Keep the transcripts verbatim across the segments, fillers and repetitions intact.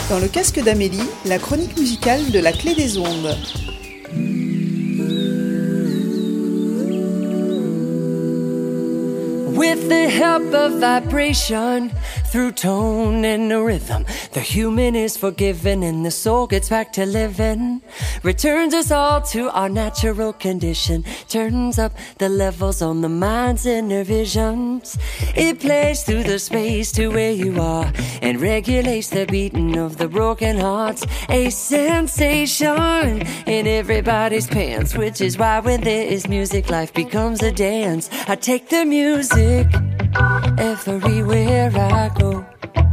Dans le casque d'Amélie, la chronique musicale de la Clé des Ondes. With the help of vibration, through tone and a rhythm, the human is forgiven and the soul gets back to living. Returns us all to our natural condition, turns up the levels on the mind's inner visions. It plays through the space to where you are and regulates the beating of the broken hearts. A sensation in everybody's pants, which is why when there is music, life becomes a dance. I take the music everywhere I go.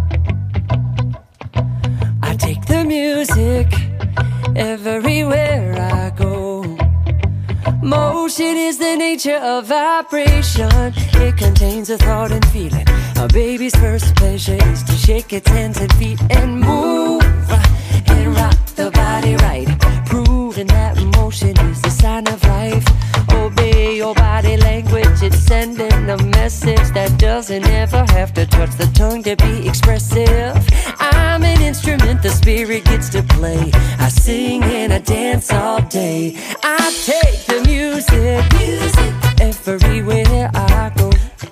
I take the music everywhere I go. Motion is the nature of vibration. It contains a thought and feeling. A baby's first pleasure is to shake its hands and feet and move and rock the body right, proving that motion is the sign of life. Obey your body language, it's sending a message that doesn't ever have to touch the tongue to be expressive. I'm an instrument the spirit gets to play. I sing and I dance all day. I take the music, music everywhere I go.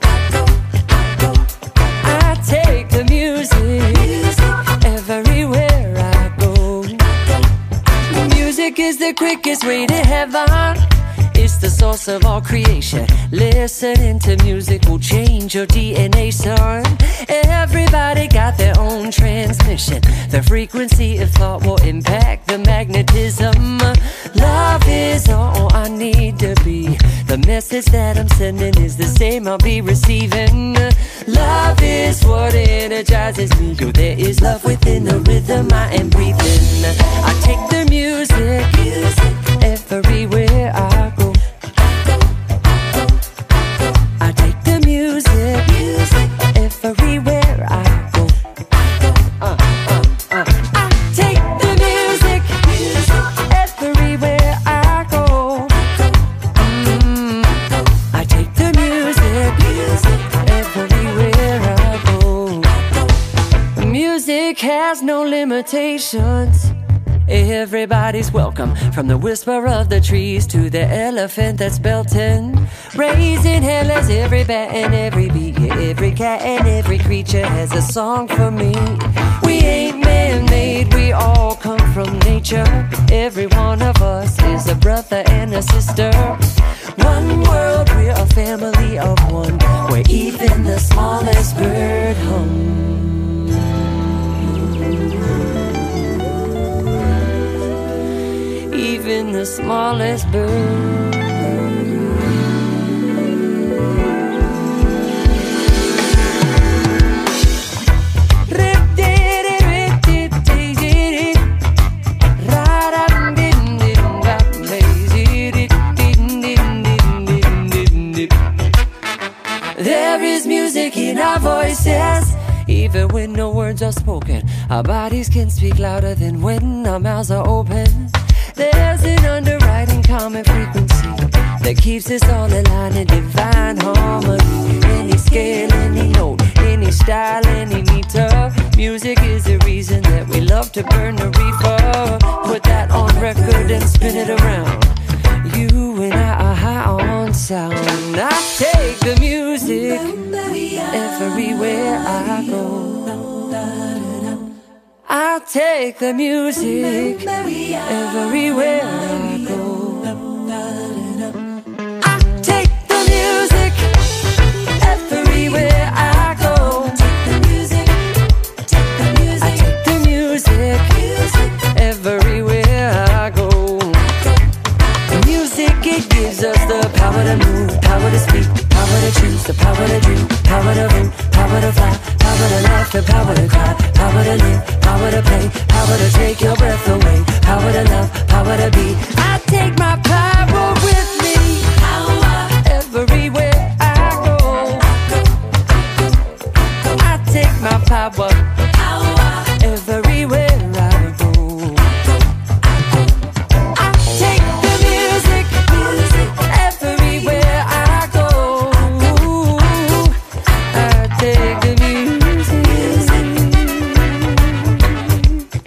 I take the music, music everywhere I go. Music is the quickest way to heaven. It's the source of all creation. Listening to music will change your D N A, son. Everybody got their own transmission. The frequency of thought will impact the magnetism. Love is all I need to be. The message that I'm sending is the same I'll be receiving. Love is what energizes me. Yo, there is love within the rhythm I am breathing. I take the music, music everywhere I go. I take the music, music everywhere I go. Uh, uh, uh. I take the music, music everywhere I go. Mm. I take the music, music everywhere I go. Music has no limitations. Everybody's welcome, from the whisper of the trees to the elephant that's belting. Raising hell as every bat and every bee, yeah, every cat and every creature has a song for me. We ain't man-made, we all come from nature. Every one of us is a brother and a sister. One world, we're a family of one, where even the smallest bird hums. Even the smallest bird. There is music in our voices. Even when no words are spoken, our bodies can speak louder than when our mouths are open. There's an underwriting common frequency that keeps us all aligned in divine harmony. Any scale, any note, any style, any meter. Music is the reason that we love to burn the reefer. Put that on record and spin it around. You and I are high on sound. I take the music everywhere I go. I take the music everywhere I go. I take the music everywhere I go. I take the music everywhere I go. Music, it gives us the power to move, power to speak, power to choose, the power to dream, power to root, power to fly, power to laugh, the power to cry, power to live, power to play, power to take your breath away, power to love, power to be. I take my power with me, power everywhere I go. I take my power, power everywhere I go. I take the music, music everywhere I go. I take the music, music.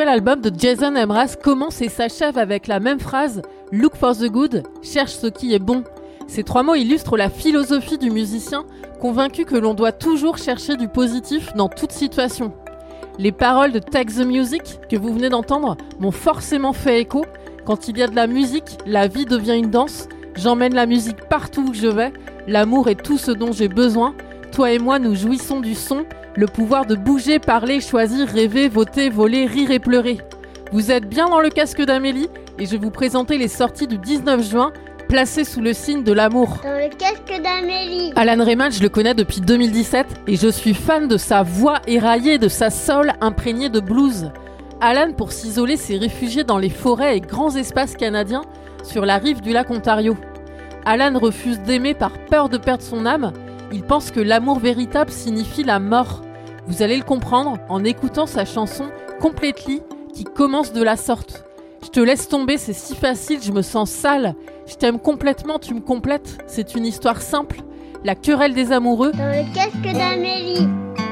album de Jason Mraz commence et s'achève avec la même phrase « Look for the good », cherche ce qui est bon. Ces trois mots illustrent la philosophie du musicien, convaincu que l'on doit toujours chercher du positif dans toute situation. Les paroles de Take the Music, que vous venez d'entendre, m'ont forcément fait écho. Quand il y a de la musique, la vie devient une danse. J'emmène la musique partout où je vais. L'amour est tout ce dont j'ai besoin. Toi et moi, nous jouissons du son. Le pouvoir de bouger, parler, choisir, rêver, voter, voler, rire et pleurer. Vous êtes bien dans le casque d'Amélie et je vais vous présenter les sorties du dix-neuf juin, placées sous le signe de l'amour. Dans le casque d'Amélie. Alan Rayman, je le connais depuis deux mille dix-sept et je suis fan de sa voix éraillée, de sa soul imprégnée de blues. Alan, pour s'isoler, s'est réfugié dans les forêts et grands espaces canadiens sur la rive du lac Ontario. Alan refuse d'aimer par peur de perdre son âme. Il pense que l'amour véritable signifie la mort. Vous allez le comprendre en écoutant sa chanson « Completely » qui commence de la sorte. Je te laisse tomber, c'est si facile, je me sens sale. Je t'aime complètement, tu me complètes. C'est une histoire simple. La querelle des amoureux. Dans le casque d'Amélie.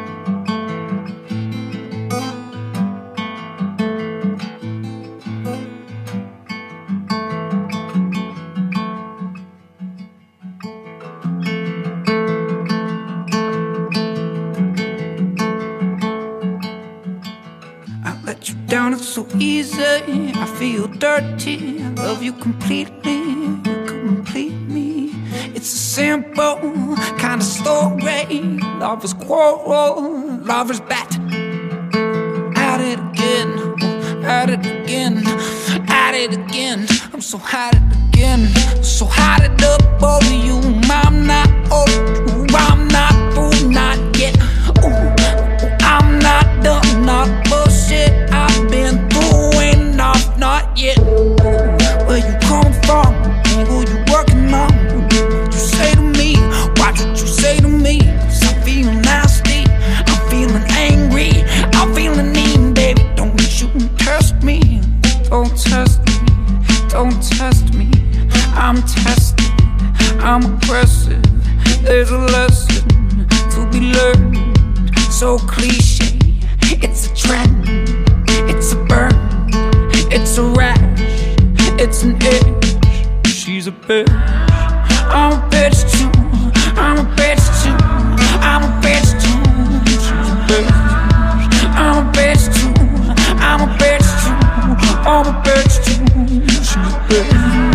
Down, it's so easy, I feel dirty, I love you completely, you complete me. It's a simple kind of story, lovers quarrel, lovers bat. At it again, at it again, at it again. I'm so hot at it again, so hot it up over you. I'm not old, I'm not fool, not yet. Ooh, I'm not done, not bullshit. I've been through enough, not yet. Where you come from? Who you working on? What you say to me? Watch what you say to me. Cause I'm feeling nasty, I'm feeling angry, I'm feeling mean, baby. Don't you test me, don't test me, don't test me. I'm tested, I'm aggressive. There's a lesson to be learned. So cliche, it's a trend. It's a burn, it's a rash, it's an itch. She's a bitch, I'm a bitch too. I'm a bitch too, I'm a bitch too. She's a bitch, I'm a bitch too. I'm a bitch too, I'm a bitch too. She's a bitch.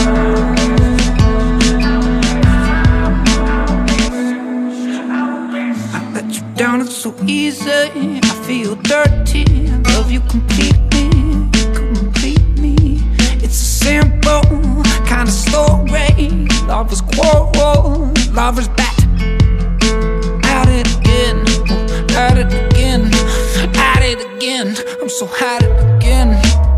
I let you down, it's so easy. I feel dirty, I love you completely, you complete me. It's a simple kind of story, lovers quarrel, lovers bat. At it again, at it again, at it again. I'm so hot at it again.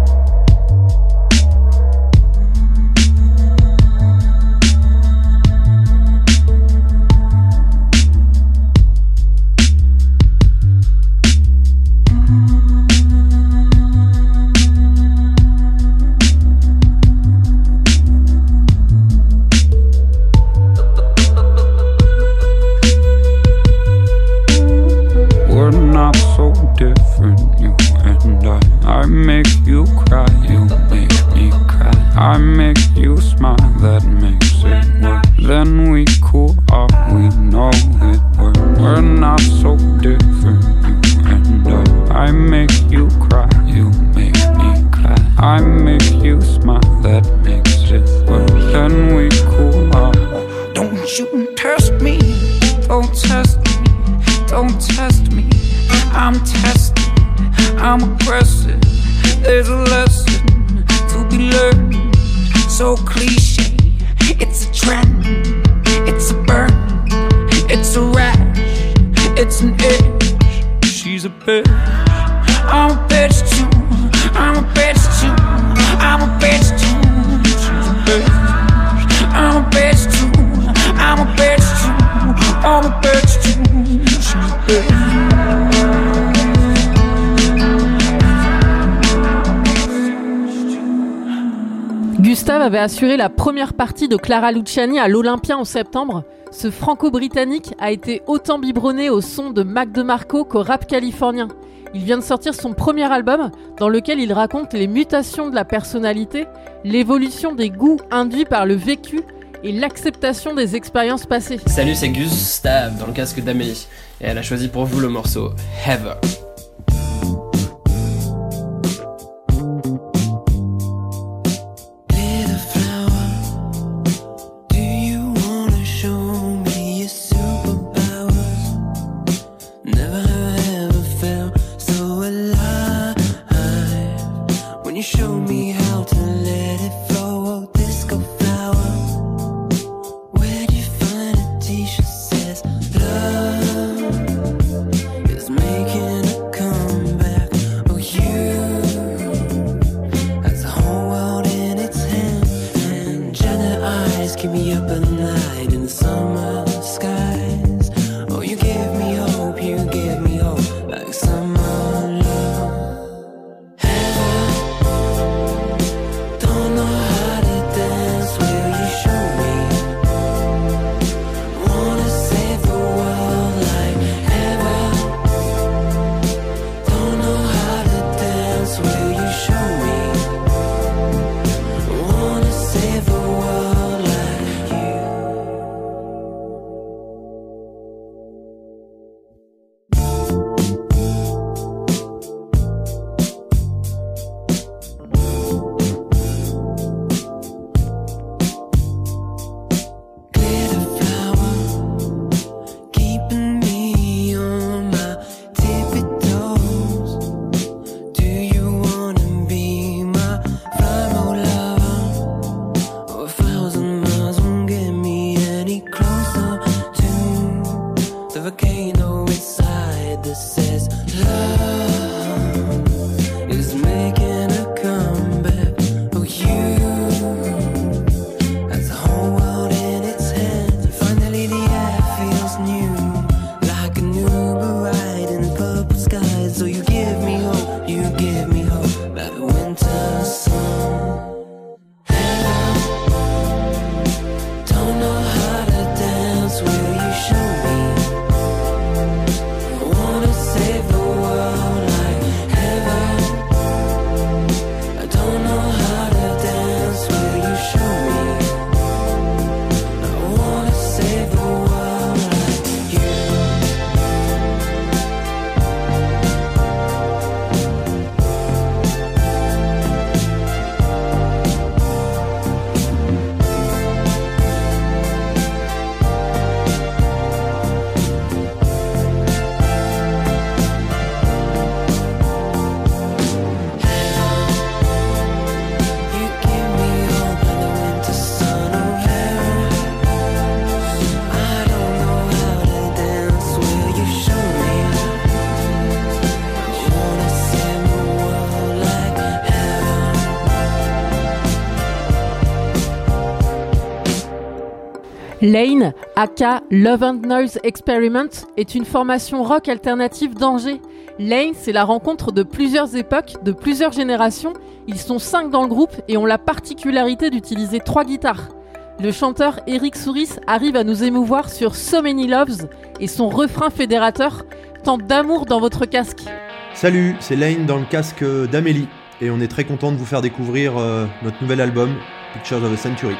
I make you cry, you make me cry. I make you smile, that makes it work. Then we cool off, we know it works. We're not so different, you and I. I make you cry, you make me cry. I make you smile, that makes it work. Then we cool off. Don't you test me, don't test me, don't test me. I'm tested, I'm aggressive. There's a lesson to be learned. So cliche, it's a trend, it's a burn, it's a rash, it's an itch. She's a bitch, I'm a bitch too. I'm a bitch too, I'm a bitch too. She's a bitch, I'm a bitch too. I'm a bitch too, I'm a bitch too. She's a bitch. Gustave avait assuré la première partie de Clara Luciani à l'Olympia en septembre. Ce franco-britannique a été autant biberonné au son de Mac DeMarco qu'au rap californien. Il vient de sortir son premier album dans lequel il raconte les mutations de la personnalité, l'évolution des goûts induits par le vécu et l'acceptation des expériences passées. Salut, c'est Gustave dans le casque d'Amélie et elle a choisi pour vous le morceau Heather. Lane, aka Love and Noise Experiment, est une formation rock alternative d'Angers. Lane, c'est la rencontre de plusieurs époques, de plusieurs générations. Ils sont cinq dans le groupe et ont la particularité d'utiliser trois guitares. Le chanteur Eric Souris arrive à nous émouvoir sur So Many Loves et son refrain fédérateur tente d'amour dans votre casque. Salut, c'est Lane dans le casque d'Amélie et on est très content de vous faire découvrir euh, notre nouvel album, Pictures of a Century.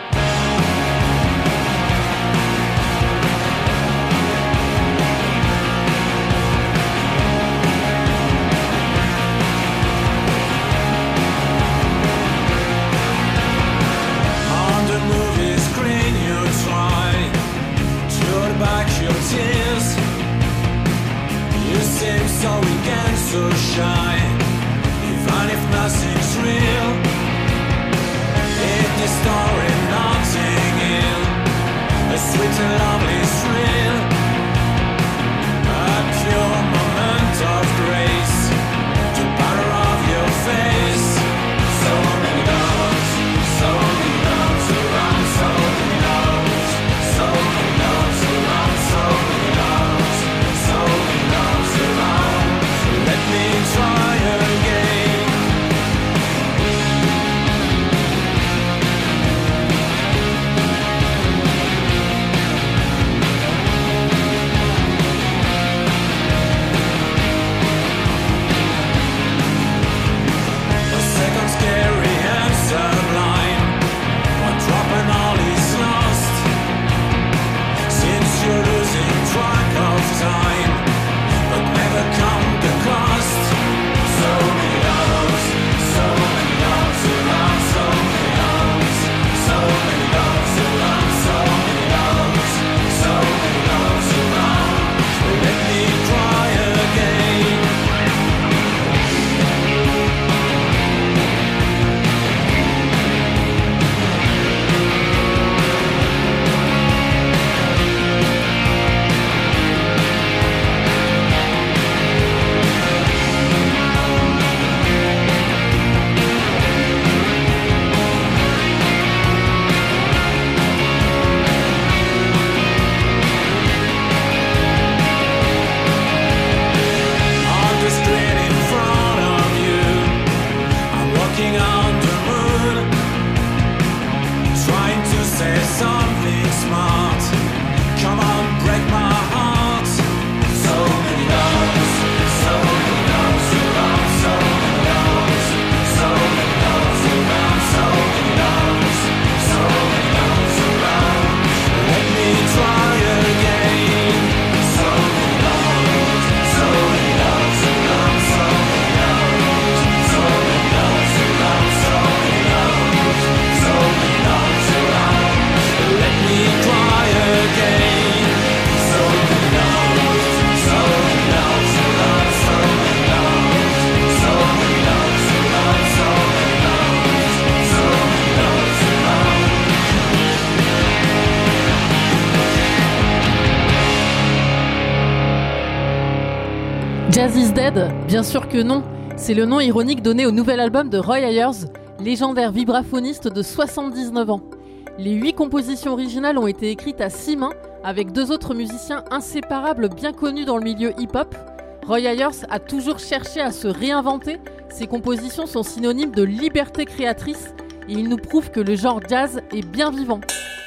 Jazz is Dead ? Bien sûr que non. C'est le nom ironique donné au nouvel album de Roy Ayers, légendaire vibraphoniste de soixante-dix-neuf ans. Les huit compositions originales ont été écrites à six mains avec deux autres musiciens inséparables bien connus dans le milieu hip-hop. Roy Ayers a toujours cherché à se réinventer. Ses compositions sont synonymes de liberté créatrice et il nous prouve que le genre jazz est bien vivant.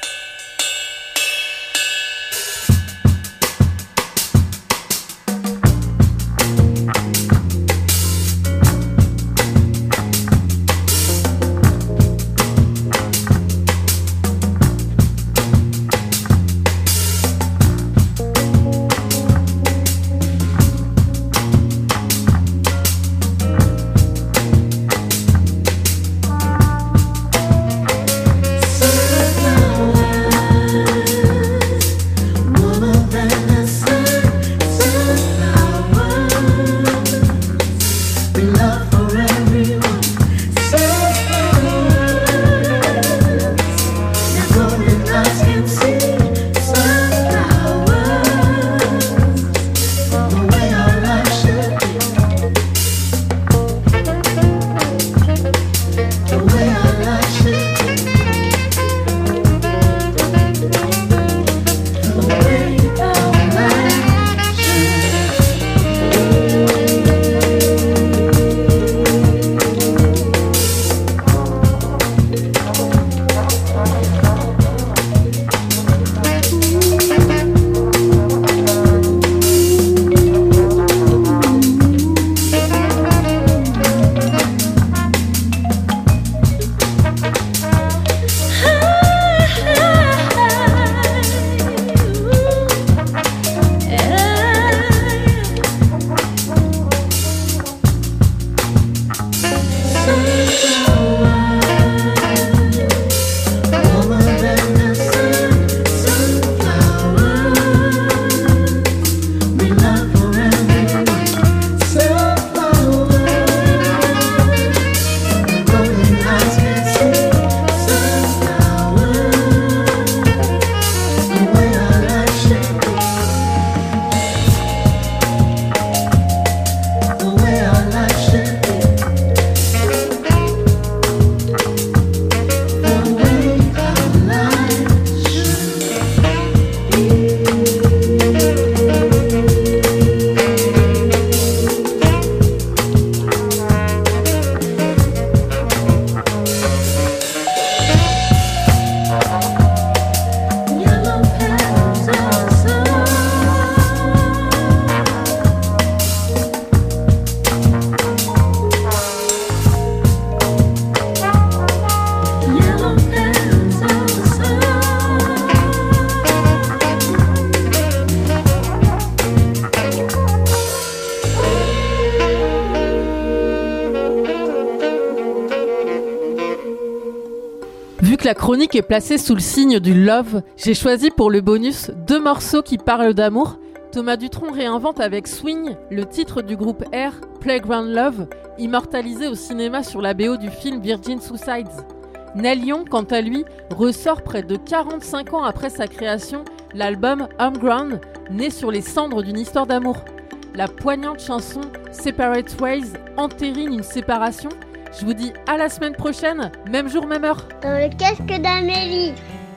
Vu que la chronique est placée sous le signe du love, j'ai choisi pour le bonus deux morceaux qui parlent d'amour. Thomas Dutronc réinvente avec Swing le titre du groupe R, Playground Love, immortalisé au cinéma sur la B O du film Virgin Suicides. Neil Young, quant à lui, ressort près de quarante-cinq ans après sa création l'album Homegrown, né sur les cendres d'une histoire d'amour. La poignante chanson Separate Ways entérine une séparation. Je vous dis à la semaine prochaine, même jour, même heure. Dans le casque d'Amélie.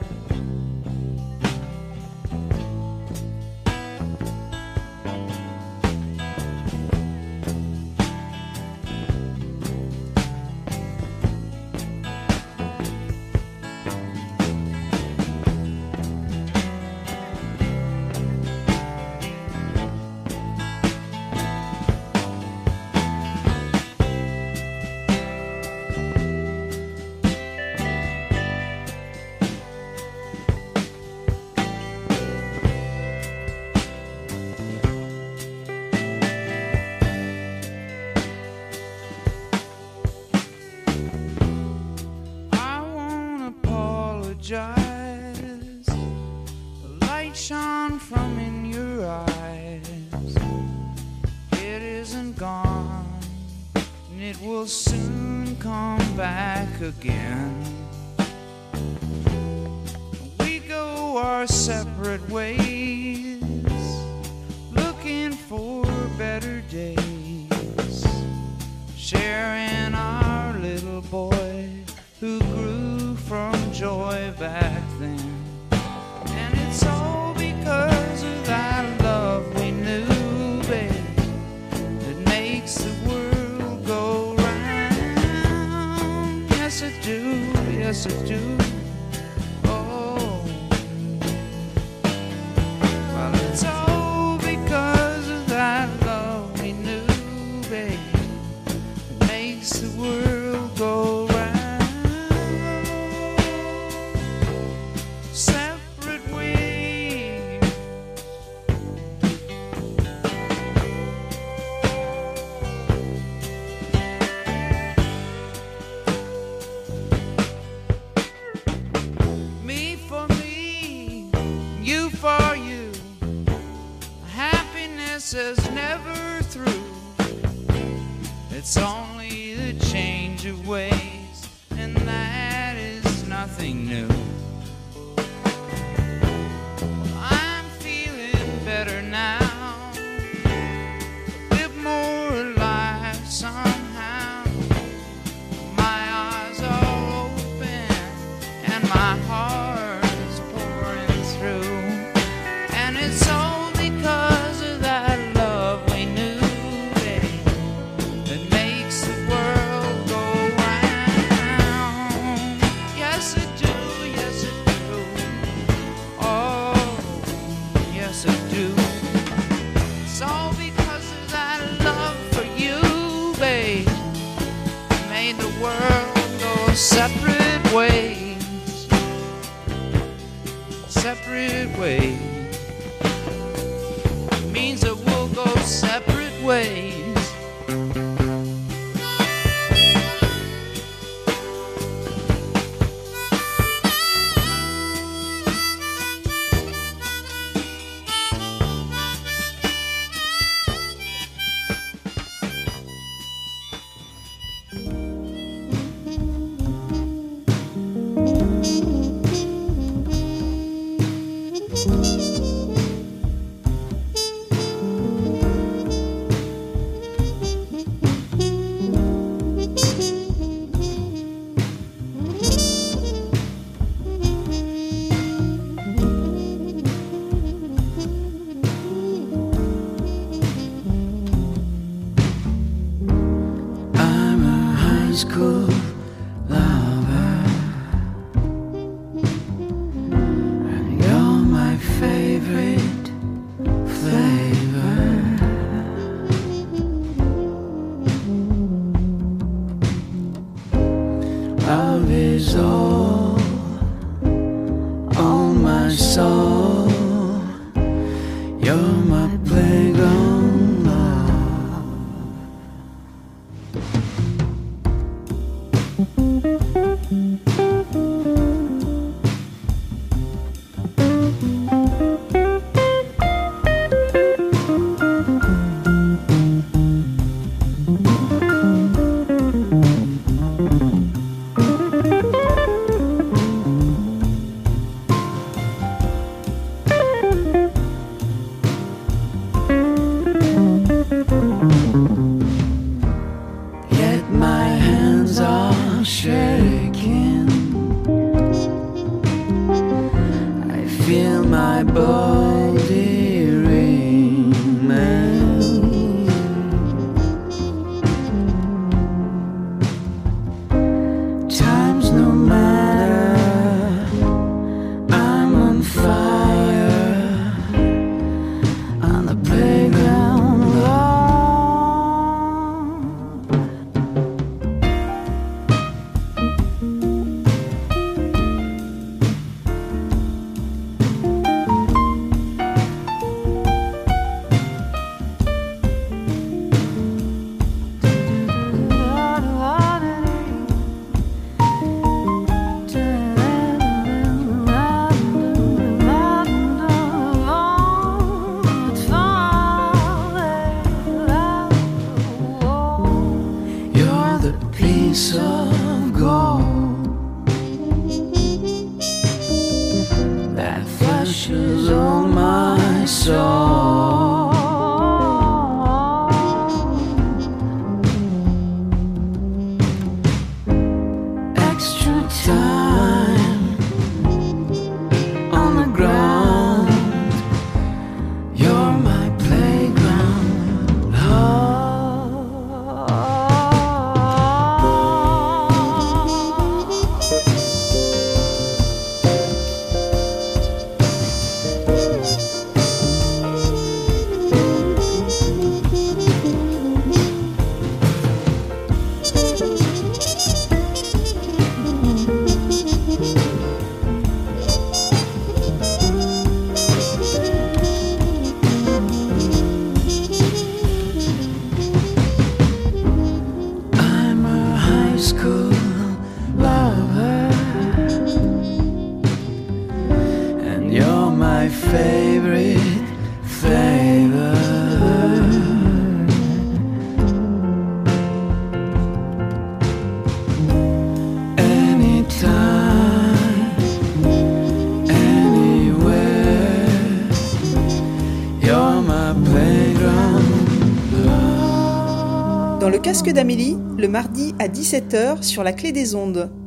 The light shone from in your eyes. It isn't gone, and it will soon come back again. We go our separate ways, looking for better days, sharing our little boy who grew from joy back then. And it's all because of that love we knew, babe, that makes the world go round. Yes, I do, yes, I do. Oh, well, it's all because of that love we knew, babe, that makes the world go round. Separate ways, me for me, you for you. Happiness is never through. It's only the change of ways, and that is nothing new. I'm feeling better now, a bit more alive somehow. My eyes are open and my heart is pouring through. And it's all because of that love we knew, babe, that makes the world go round. Yes, I do, yes, I do. Oh, yes, I do. It's all because of that love for you, babe, that made the world go separate ways, separate ways. Means that we'll go separate ways. I'm a high school lover, and you're my favorite flavor. Love is all on my soul. You're my playground love. Yet my hands are shaking. I feel my body remain. Times no matter, I'm on fire on the playground lawn. Anytime on the ground, you're my playground. I'm a high school lover, and you're my favorite flavor. Anytime, anywhere, you're my playground. Dans le casque d'Amélie, le mardi à dix-sept heures sur la Clé des Ondes.